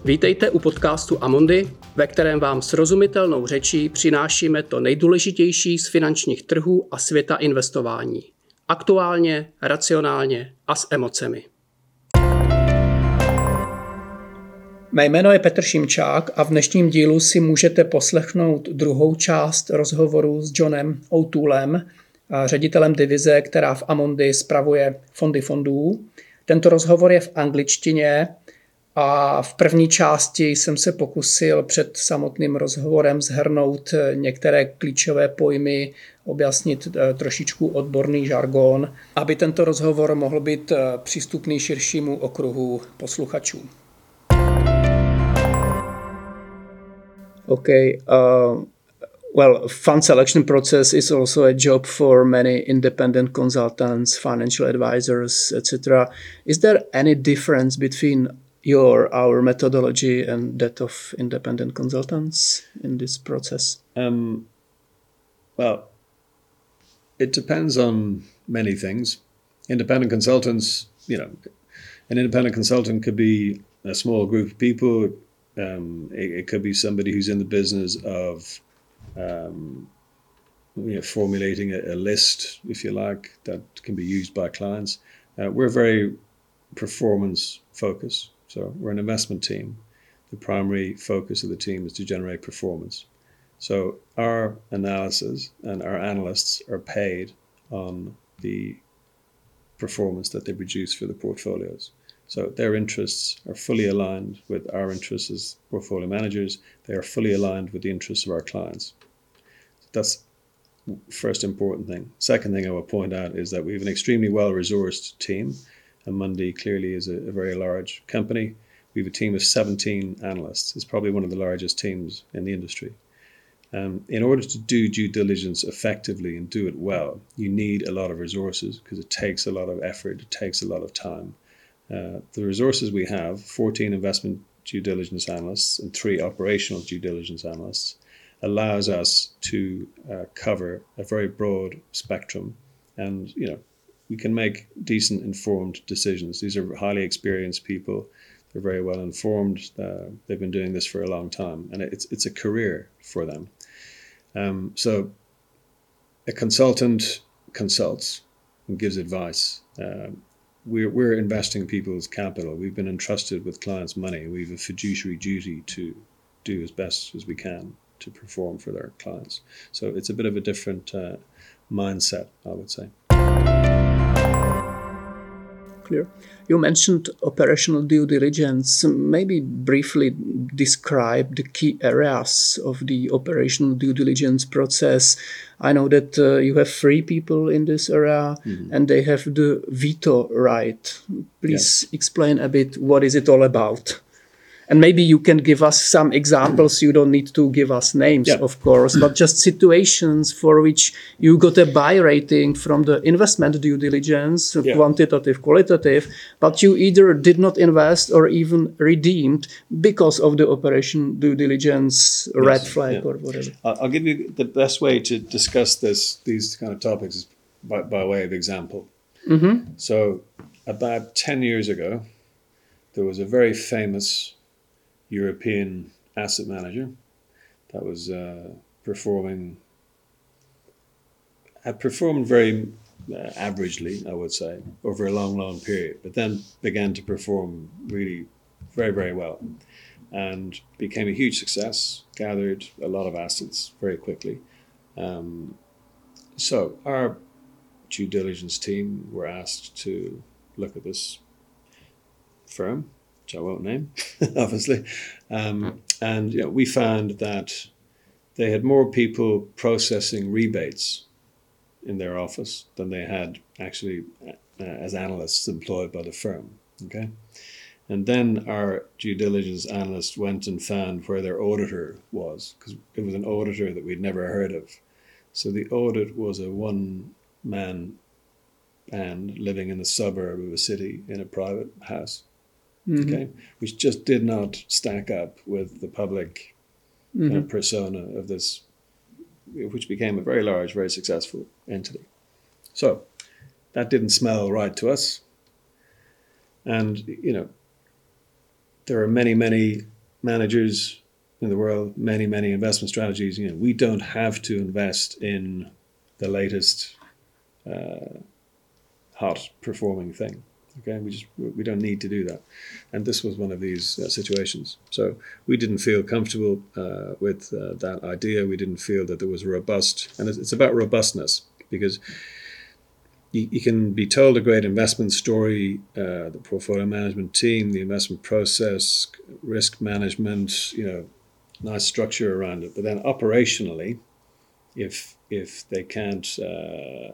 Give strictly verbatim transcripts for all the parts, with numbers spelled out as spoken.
Vítejte u podcastu Amundi, ve kterém vám srozumitelnou řečí přinášíme to nejdůležitější z finančních trhů a světa investování. Aktuálně, racionálně a s emocemi. Mé jméno je Petr Šimčák a v dnešním dílu si můžete poslechnout druhou část rozhovoru s Johnem O'Toolem, ředitelem divize, která v Amundi spravuje fondy fondů. Tento rozhovor je v angličtině a v první části jsem se pokusil před samotným rozhovorem shrnout některé klíčové pojmy, objasnit trošičku odborný žargon, aby tento rozhovor mohl být přístupný širšímu okruhu posluchačů. Okay. Uh, well, fund selection process is also a job for many independent consultants, financial advisors, et cetera. Is there any difference between your our methodology and that of independent consultants in this process? Um, well, it depends on many things. Independent consultants, you know, an independent consultant could be a small group of people. Um, it, it could be somebody who's in the business of um, you know, formulating a, a list, if you like, that can be used by clients. Uh, we're very performance focused. So we're an investment team. The primary focus of the team is to generate performance. So our analysis and our analysts are paid on the performance that they produce for the portfolios. So their interests are fully aligned with our interests as portfolio managers. They are fully aligned with the interests of our clients. That's the first important thing. Second thing I will point out is that we have an extremely well-resourced team. Amundi clearly is a, a very large company. We have a team of seventeen analysts. It's probably one of the largest teams in the industry. Um, in order to do due diligence effectively and do it well, you need a lot of resources because it takes a lot of effort, it takes a lot of time. Uh, the resources we have, fourteen investment due diligence analysts and three operational due diligence analysts, allows us to uh, cover a very broad spectrum. And, you know, we can make decent informed decisions. These are highly experienced people. They're very well informed. Uh, they've been doing this for a long time. And it's it's a career for them. Um, so a consultant consults and gives advice. Uh, We're, we're investing people's capital. We've been entrusted with clients' money. We have a fiduciary duty to do as best as we can to perform for their clients. So it's a bit of a different uh, mindset, I would say. Clear. You mentioned operational due diligence. Maybe briefly describe the key areas of the operational due diligence process. I know that uh, you have three people in this area mm-hmm. and they have the veto right. Please yes. explain a bit what is it all about. And maybe you can give us some examples. You don't need to give us names, yeah. of course, but just situations for which you got a buy rating from the investment due diligence, yeah. quantitative, qualitative, but you either did not invest or even redeemed because of the operation due diligence yes. red flag yeah. or whatever. I'll give you the best way to discuss this, these kind of topics is by, by way of example. Mm-hmm. So about ten years ago, there was a very famous European asset manager that was uh, performing, had performed very uh, averagely, I would say, over a long, long period, but then began to perform really very, very well and became a huge success, gathered a lot of assets very quickly. Um, so our due diligence team were asked to look at this firm, which I won't name, obviously. Um, and you know, we found that they had more people processing rebates in their office than they had actually uh, as analysts employed by the firm. Okay, and then our due diligence analyst went and found where their auditor was, because it was an auditor that we'd never heard of. So the audit was a one-man band living in the suburb of a city in a private house. Mm-hmm. Okay, which just did not stack up with the public mm-hmm. uh, persona of this, which became a very large, very successful entity. So that didn't smell right to us. And, you know, there are many, many managers in the world, many, many investment strategies, you know, we don't have to invest in the latest uh, hot performing thing. Okay, we just we don't need to do that, and this was one of these uh, situations. So we didn't feel comfortable uh, with uh, that idea. We didn't feel that there was robust, and it's, it's about robustness, because you, you can be told a great investment story, uh, the portfolio management team, the investment process, risk management, you know, nice structure around it. But then operationally, if if they can't uh,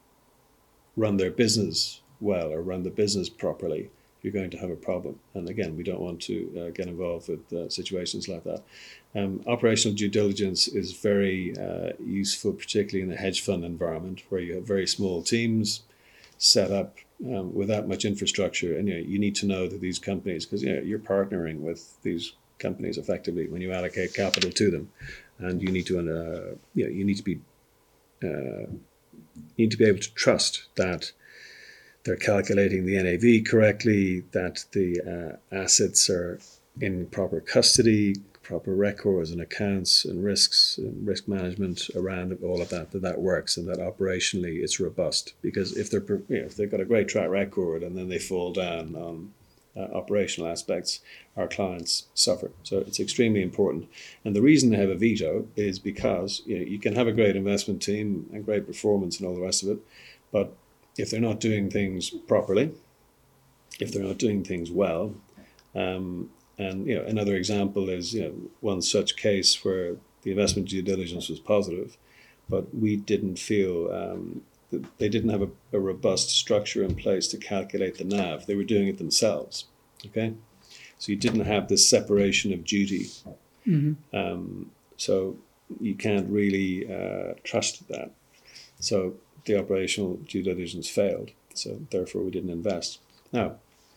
run their business well or run the business properly, you're going to have a problem. And again, we don't want to uh, get involved with uh, situations like that. Um, operational due diligence is very uh, useful, particularly in the hedge fund environment, where you have very small teams set up um, without much infrastructure. And you know, you need to know that these companies, because you know, you're partnering with these companies effectively when you allocate capital to them, and you need to, uh, you know, you need to be, uh, you need to be able to trust that they're calculating the N A V correctly, that the uh, assets are in proper custody, proper records and accounts and risks and risk management around all of that, that that works, and that operationally it's robust. Because if they're, you know, if they've got a great track record and then they fall down on uh, operational aspects, our clients suffer. So it's extremely important. And the reason they have a veto is because you know, you can have a great investment team and great performance and all the rest of it, but if they're not doing things properly, if they're not doing things well, um, and you know, another example is you know one such case where the investment due diligence was positive, but we didn't feel um, that they didn't have a, a robust structure in place to calculate the N A V. They were doing it themselves. Okay, so you didn't have this separation of duty. Mm-hmm. Um, so you can't really uh, trust that. So the operational due diligence failed, so therefore we didn't invest. Now,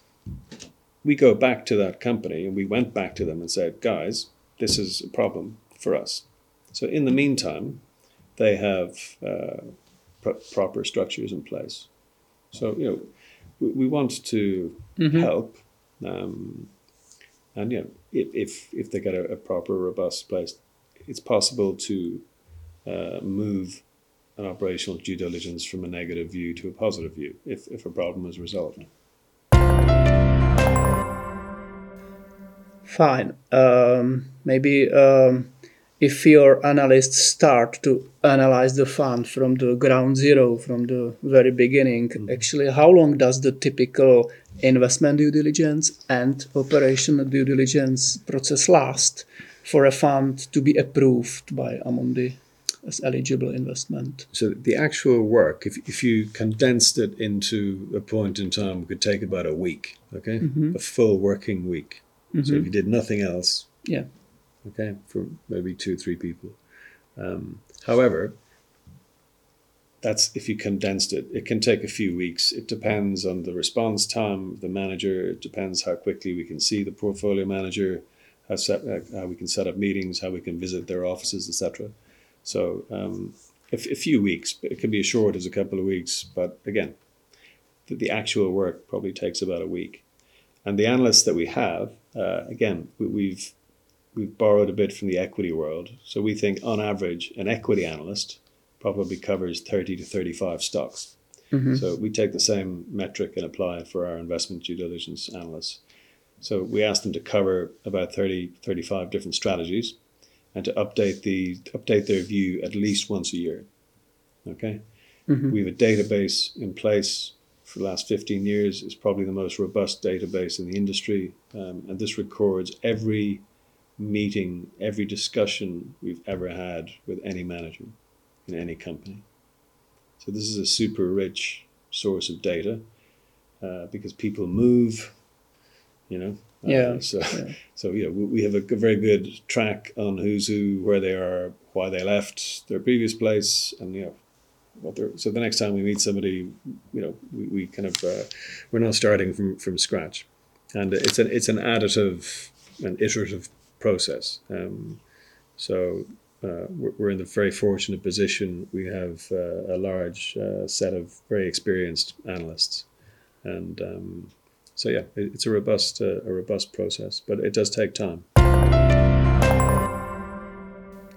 we go back to that company and we went back to them and said, guys, this is a problem for us. So in the meantime, they have uh, pro- proper structures in place. So, you know, we, we want to mm-hmm. help, um, and, you know, if, if, if they get a, a proper, robust place, it's possible to uh, move an operational due diligence from a negative view to a positive view if, if a problem is resolved. Fine. Um, maybe um, if your analysts start to analyze the fund from the ground zero, from the very beginning, mm-hmm. actually, how long does the typical investment due diligence and operational due diligence process last for a fund to be approved by Amundi as eligible investment? So the actual work, if if you condensed it into a point in time, could take about a week, okay? Mm-hmm. A full working week. Mm-hmm. So if you did nothing else, yeah, okay, for maybe two, three people. Um, however, that's if you condensed it. It can take a few weeks. It depends on the response time of the manager. It depends how quickly we can see the portfolio manager, how, set, uh, how we can set up meetings, how we can visit their offices, et cetera. So um, a, a few weeks, it can be as short as a couple of weeks, but again, the, the actual work probably takes about a week. And the analysts that we have, uh, again, we, we've we've borrowed a bit from the equity world. So we think on average, an equity analyst probably covers thirty to thirty-five stocks. Mm-hmm. So we take the same metric and apply it for our investment due diligence analysts. So we ask them to cover about thirty, thirty-five different strategies, and to update the update their view at least once a year. Okay, mm-hmm. We have a database in place for the last fifteen years. It's probably the most robust database in the industry, um, and this records every meeting, every discussion we've ever had with any manager in any company. So this is a super rich source of data uh, because people move, you know. Yeah. Uh, so, yeah. so you know, we have a very good track on who's who, where they are, why they left their previous place, and you know, what they're. So the next time we meet somebody, you know, we, we kind of uh, we're not starting from, from scratch, and it's an it's an additive and iterative process. Um, so uh, we're, we're in the very fortunate position. We have uh, a large uh, set of very experienced analysts, and. Um, So yeah, it's a robust, uh, a robust process, but it does take time.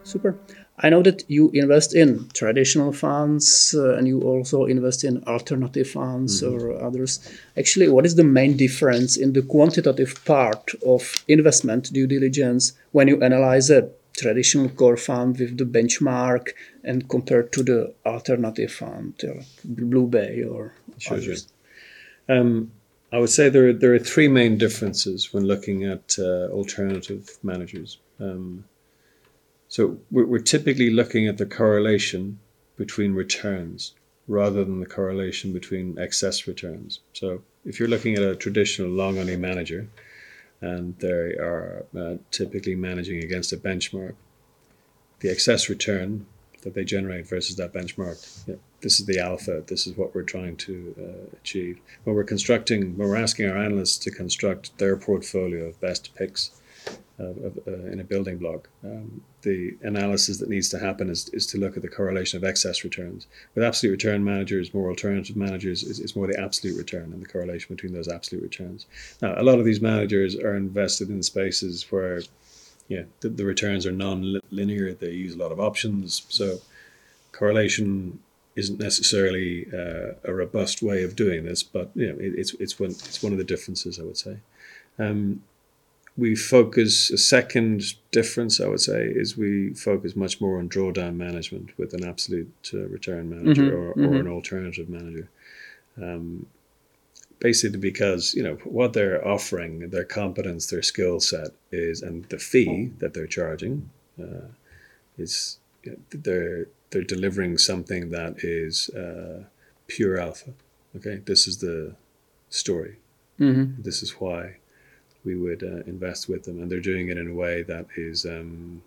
Super. I know that you invest in traditional funds uh, and you also invest in alternative funds mm-hmm. or others. Actually, what is the main difference in the quantitative part of investment due diligence when you analyze a traditional core fund with the benchmark and compared to the alternative fund, like Blue Bay or sure, others? Sure. Um, I would say there are, there are three main differences when looking at uh, alternative managers. Um, So we're typically looking at the correlation between returns rather than the correlation between excess returns. So if you're looking at a traditional long-only manager and they are uh, typically managing against a benchmark, the excess return that they generate versus that benchmark, you know, this is the alpha, this is what we're trying to uh, achieve. When we're constructing, when we're asking our analysts to construct their portfolio of best picks, Uh, uh, in a building block, um, the analysis that needs to happen is, is to look at the correlation of excess returns. With absolute return managers, more alternative managers, is, is more the absolute return and the correlation between those absolute returns. Now, a lot of these managers are invested in spaces where yeah, the, the returns are non-linear. They use a lot of options. So correlation isn't necessarily uh, a robust way of doing this, but you know, it, it's, it's, one, it's one of the differences, I would say. Um, We focus, a second difference, I would say, is we focus much more on drawdown management with an absolute uh, return manager mm-hmm, or, mm-hmm. or an alternative manager. Um, basically because, you know, what they're offering, their competence, their skill set is, and the fee that they're charging uh, is, you know, they're, they're delivering something that is uh, pure alpha. Okay, this is the story. Mm-hmm. This is why we would uh, invest with them, and they're doing it in a way that is, um,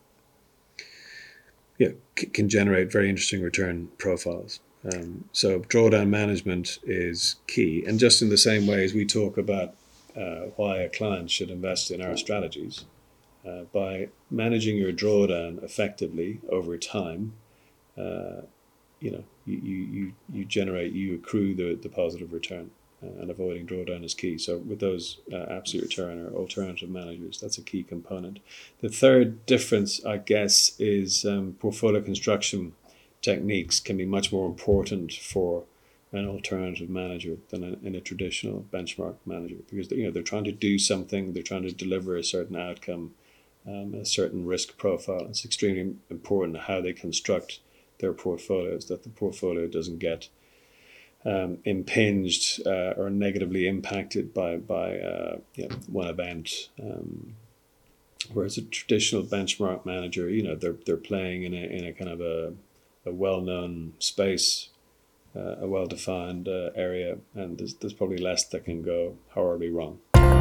yeah, c- can generate very interesting return profiles. Um, so drawdown management is key, and just in the same way as we talk about uh, why a client should invest in our strategies, uh, by managing your drawdown effectively over time, uh, you know, you, you you generate, you accrue the, the positive return. Uh, and avoiding drawdown is key. So with those uh, absolute return or alternative managers, that's a key component. The third difference, I guess, is um, portfolio construction techniques can be much more important for an alternative manager than a, in a traditional benchmark manager, because you know they're trying to do something, they're trying to deliver a certain outcome, um, a certain risk profile. It's extremely important how they construct their portfolios, that the portfolio doesn't get Um, impinged uh, or negatively impacted by by uh, you know, one event. Um, whereas a traditional benchmark manager, you know, they're they're playing in a in a kind of a, a well-known space, uh, a well-defined uh, area, and there's there's probably less that can go horribly wrong.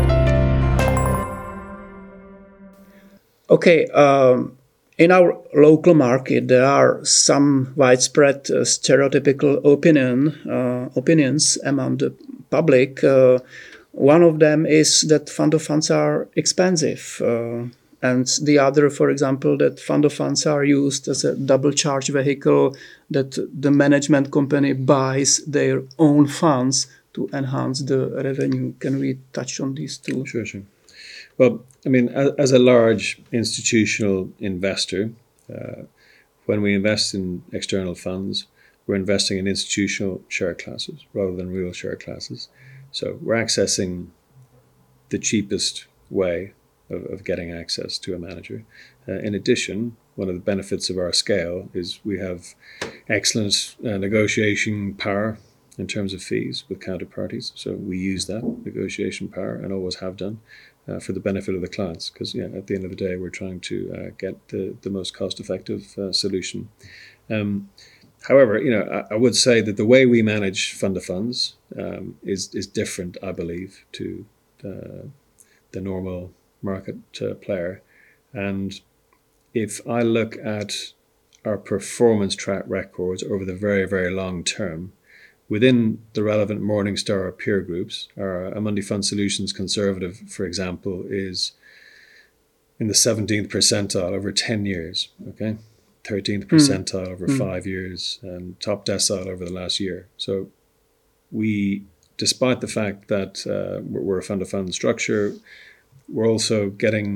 Okay. Um... In our local market, there are some widespread uh, stereotypical opinion uh, opinions among the public. Uh, one of them is that fund of funds are expensive, uh, and the other, for example, that fund of funds are used as a double charge vehicle, that the management company buys their own funds to enhance the revenue. Can we touch on these two? Sure, sure. Well, I mean, as, as a large institutional investor, uh, when we invest in external funds, we're investing in institutional share classes rather than real share classes. So we're accessing the cheapest way of, of getting access to a manager. Uh, in addition, one of the benefits of our scale is we have excellent uh, negotiation power in terms of fees with counterparties. So we use that negotiation power and always have done. Uh, for the benefit of the clients, because yeah, at the end of the day, we're trying to uh, get the, the most cost-effective uh, solution. Um, however, you know, I, I would say that the way we manage fund of funds um, is is different, I believe, to uh, the normal market uh, player. And if I look at our performance track records over the very, very long term, within the relevant Morningstar peer groups, our Amundi Fund Solutions Conservative, for example, is in the seventeenth percentile over ten years, okay? thirteenth percentile mm. over mm. five years, and top decile over the last year. So we, despite the fact that uh, we're a fund-of-fund structure, we're also getting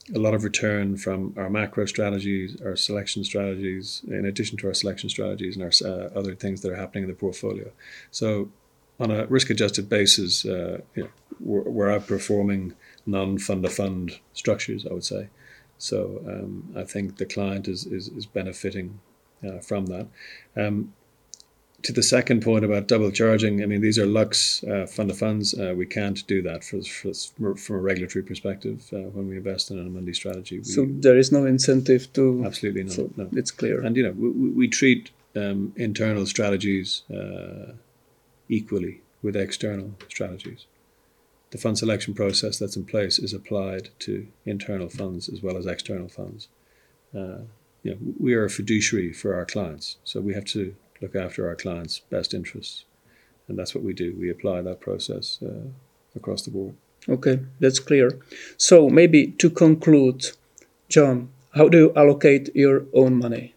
a lot of return from our macro strategies, our selection strategies, in addition to our selection strategies and our uh, other things that are happening in the portfolio. So on a risk-adjusted basis, uh, you know, we're, we're outperforming non-fund-of-fund structures, I would say. So um, I think the client is, is, is benefiting uh, from that. Um, To the second point about double charging, I mean, these are Lux uh, fund of funds. Uh, we can't do that for, for, from a regulatory perspective uh, when we invest in an Amundi strategy. We, so there is no incentive to... Absolutely not. So no. It's clear. And, you know, we, we treat um, internal strategies uh, equally with external strategies. The fund selection process that's in place is applied to internal funds as well as external funds. Uh, you know, we are a fiduciary for our clients, so we have to look after our clients' best interests. And that's what we do. We apply that process uh, across the board. Okay, that's clear. So maybe to conclude, John, how do you allocate your own money?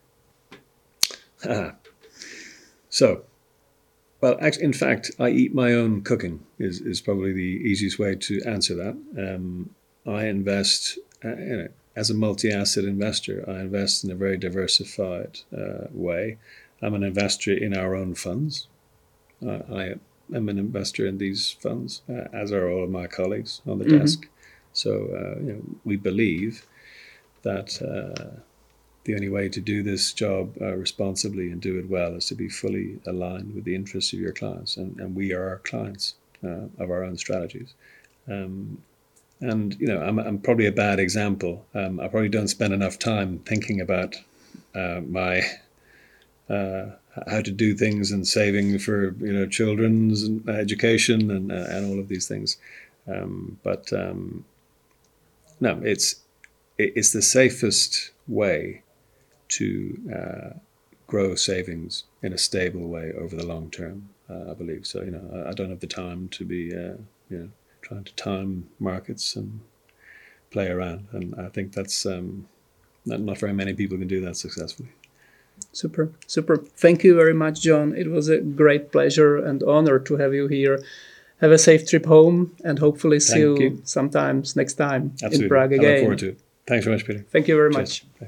Ah. So, well, actually, in fact, I eat my own cooking is, is probably the easiest way to answer that. Um, I invest, uh, you know, as a multi-asset investor, I invest in a very diversified uh, way. I'm an investor in our own funds. Uh, I am an investor in these funds, uh, as are all of my colleagues on the mm-hmm. desk. So uh, you know, we believe that uh, the only way to do this job uh, responsibly and do it well is to be fully aligned with the interests of your clients. And, and we are our clients uh, of our own strategies. Um, and, you know, I'm, I'm probably a bad example. Um, I probably don't spend enough time thinking about uh, my... Uh, how to do things and saving for you know children's education and uh, and all of these things, um, but um, no, it's it's the safest way to uh, grow savings in a stable way over the long term. Uh, I believe so. You know, I, I don't have the time to be uh, you know trying to time markets and play around, and I think that's um, not, not very many people can do that successfully. Super, super. Thank you very much, John. It was a great pleasure and honor to have you here. Have a safe trip home and hopefully see you, you sometimes next time Absolutely. in Prague again. I look forward to it. Thanks very much, Peter. Thank you very Cheers. much.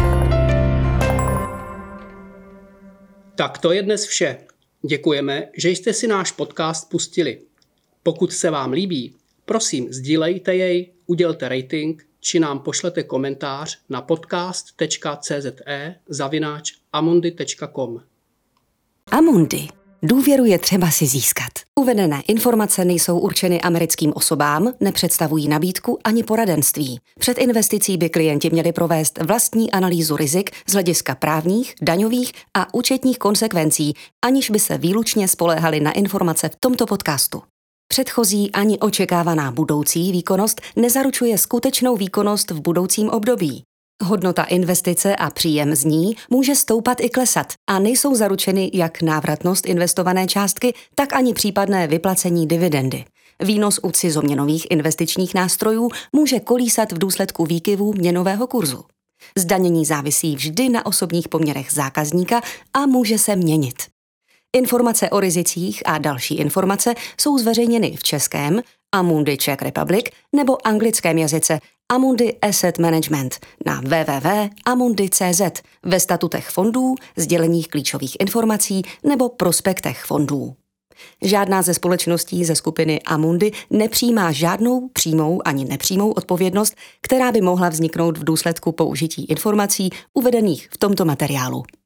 Tak to je dnes vše. Děkujeme, že jste si náš podcast pustili. Pokud se vám líbí, prosím sdílejte jej, udělte rating, či nám pošlete komentář na podcast tečka cze zavináč amundi tečka com. Amundi. Důvěru je třeba si získat. Uvedené informace nejsou určeny americkým osobám, nepředstavují nabídku ani poradenství. Před investicí by klienti měli provést vlastní analýzu rizik z hlediska právních, daňových a účetních konsekvencí, aniž by se výlučně spoléhali na informace v tomto podcastu. Předchozí ani očekávaná budoucí výkonnost nezaručuje skutečnou výkonnost v budoucím období. Hodnota investice a příjem z ní může stoupat i klesat a nejsou zaručeny jak návratnost investované částky, tak ani případné vyplacení dividendy. Výnos u cizoměnových investičních nástrojů může kolísat v důsledku výkyvů měnového kurzu. Zdanění závisí vždy na osobních poměrech zákazníka a může se měnit. Informace o rizicích a další informace jsou zveřejněny v českém Amundi Czech Republic nebo anglickém jazyce Amundi Asset Management na w w w tečka amundi tečka cz ve statutech fondů, sděleních klíčových informací nebo prospektech fondů. Žádná ze společností ze skupiny Amundi nepřijímá žádnou přímou ani nepřímou odpovědnost, která by mohla vzniknout v důsledku použití informací uvedených v tomto materiálu.